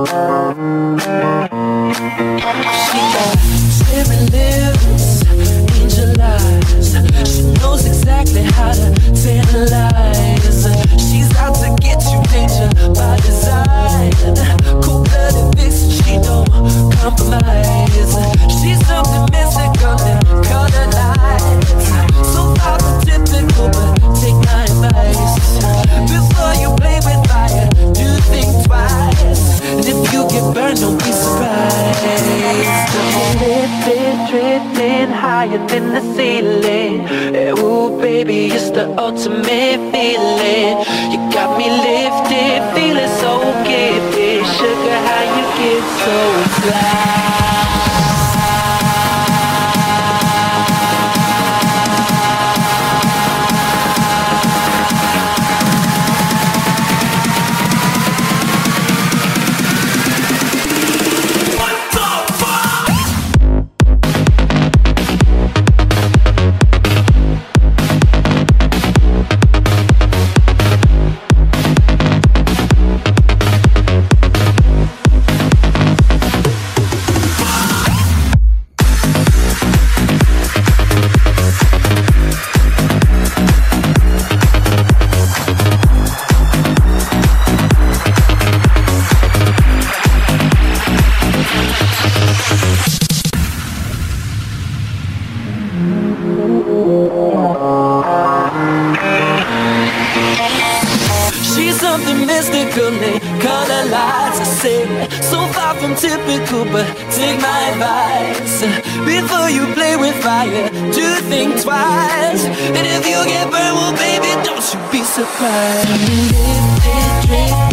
She got cherry lips, angel eyes. She knows exactly how to tantalize. She's out to get you, danger by design. Cold-blooded vixen, she don't compromise. She's something mystical and color lights. So far from typical, but take my advice. Before you play with fire, do think twice. And if you get burned, don't be surprised. Lifted, drifting higher than the ceiling. Ooh, baby, it's the ultimate feeling. You got me lifted, feeling so gifted. Sugar, how you get so fly? Typical, but take my advice. Before you play with fire, do think twice. And if you get burned, well, baby, don't you be surprised. Lifted,